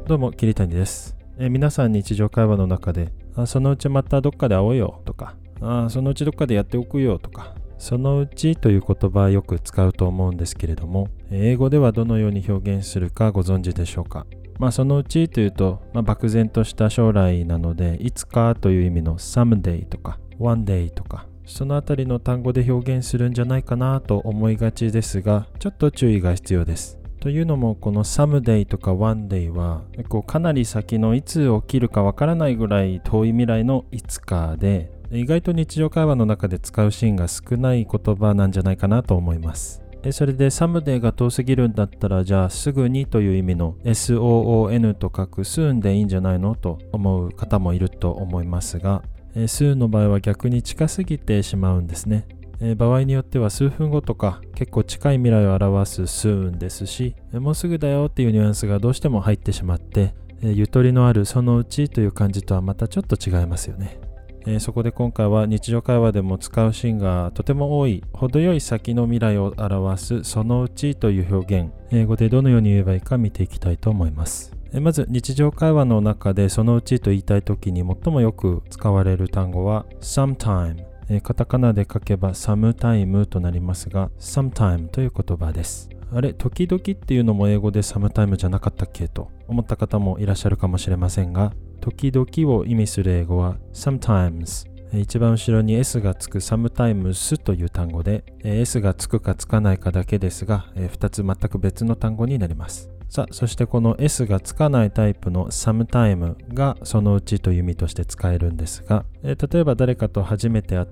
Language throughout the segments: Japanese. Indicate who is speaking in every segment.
Speaker 1: どうも桐谷です。皆さん日常会話の中でそのうちまたどっかで会おうよとかそのうちどっかでやっておくよとか、そのうちという言葉はよく使うと思うんですけれども、英語ではどのように表現するかご存知でしょうか。そのうちというと、漠然とした将来なので、いつかという意味の someday とか one day とか、そのあたりの単語で表現するんじゃないかなと思いがちですが、ちょっと注意が必要です。というのも、この someday とか one day はかなり先のいつ起きるかわからないぐらい遠い未来のいつかで、意外と日常会話の中で使うシーンが少ない言葉なんじゃないかなと思います。それで someday が遠すぎるんだったら、じゃあすぐにという意味の soon と書く soon でいいんじゃないのと思う方もいると思いますが、soon の場合は逆に近すぎてしまうんですね。場合によっては数分後とか結構近い未来を表す soon ですし、もうすぐだよっていうニュアンスがどうしても入ってしまって、ゆとりのあるそのうちという感じとはまたちょっと違いますよね。そこで今回は日常会話でも使うシーンがとても多い程よい先の未来を表すそのうちという表現、英語でどのように言えばいいか見ていきたいと思います。まず日常会話の中でそのうちと言いたいときに最もよく使われる単語は sometime、カタカナで書けば sometime となりますが、 sometime という言葉です。あれ、時々っていうのも英語で sometime じゃなかったっけと思った方もいらっしゃるかもしれませんが、時々を意味する英語は sometimes、一番後ろに S がつく sometimes という単語で、S がつくかつかないかだけですが、2つ全く別の単語になります。さあ、そしてこの S がつかないタイプの sometime がそのうちという意味として使えるんですが、例えば誰かと初めて会って、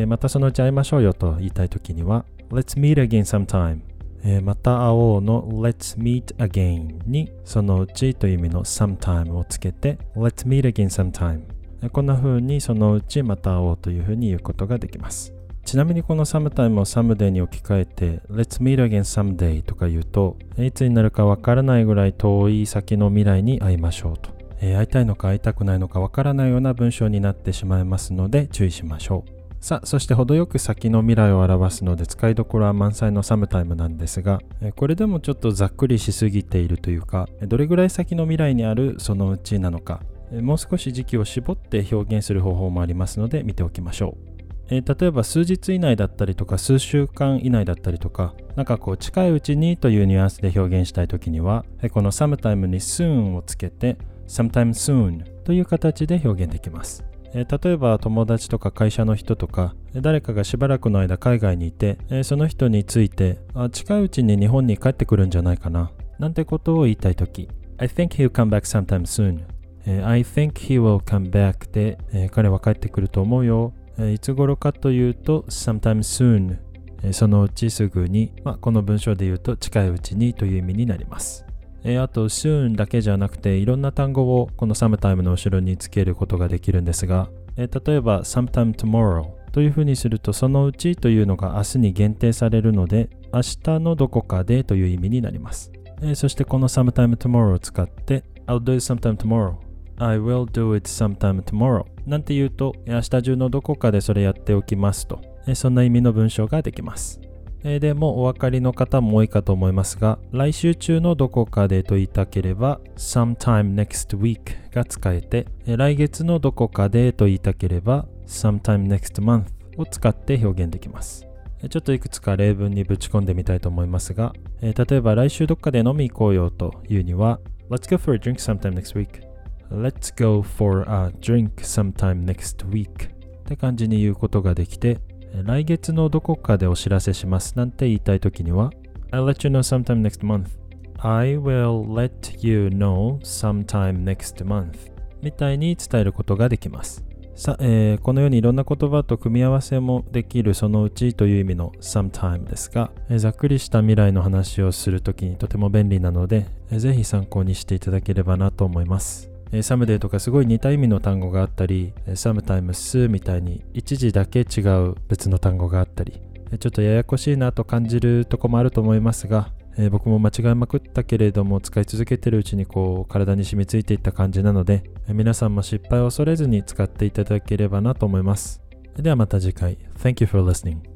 Speaker 1: またそのうち会いましょうよと言いたいときには Let's meet again sometime、また会おうの Let's meet again にそのうちという意味の sometime をつけて Let's meet again sometime、こんな風にそのうちまた会おうという風に言うことができます。ちなみにこの sometime を someday に置き換えて Let's meet again someday とか言うと、いつになるかわからないぐらい遠い先の未来に会いましょうと、会いたいのか会いたくないのかわからないような文章になってしまいますので注意しましょう。さあ、そして程よく先の未来を表すので使いどころは満載の sometime なんですが、これでもちょっとざっくりしすぎているというか、どれぐらい先の未来にあるそのうちなのか、もう少し時期を絞って表現する方法もありますので見ておきましょう。例えば数日以内だったりとか数週間以内だったりとか、近いうちにというニュアンスで表現したいときには、この sometime に soon をつけて sometime soon という形で表現できます。例えば友達とか会社の人とか誰かがしばらくの間海外にいて、その人について近いうちに日本に帰ってくるんじゃないかななんてことを言いたいとき、 I think he'll come back sometime soon、I think he will come back で、彼は帰ってくると思うよ。いつ頃かというと sometime soon、そのうちすぐに、この文章で言うと近いうちにという意味になります。あと soon だけじゃなくていろんな単語をこの sometime の後ろにつけることができるんですが、例えば sometime tomorrow というふうにするとそのうちというのが明日に限定されるので、明日のどこかでという意味になります。そしてこの sometime tomorrow を使って I'll do it sometime tomorrow、I will do it sometime tomorrow なんて言うと、明日中のどこかでそれやっておきますと、そんな意味の文章ができます。でもお分かりの方も多いかと思いますが、来週中のどこかでと言いたければ sometime next week が使えて、来月のどこかでと言いたければ sometime next month を使って表現できます。ちょっといくつか例文にぶち込んでみたいと思いますが、例えば来週どっかで飲み行こうよというには Let's go for a drink sometime next week、Let's go for a drink sometime next week って感じに言うことができて、来月のどこかでお知らせしますなんて言いたいときには I'll let you know sometime next month、I will let you know sometime next month みたいに伝えることができます。さあ、このようにいろんな言葉と組み合わせもできるそのうちという意味の sometime ですが、ざっくりした未来の話をするときにとても便利なので、ぜひ参考にしていただければなと思います。someday とかすごい似た意味の単語があったり、sometimes みたいに一時だけ違う別の単語があったり、ちょっとややこしいなと感じるとこもあると思いますが、僕も間違いまくったけれども使い続けてるうちに体に染みついていった感じなので、皆さんも失敗を恐れずに使っていただければなと思います。ではまた次回。Thank you for listening.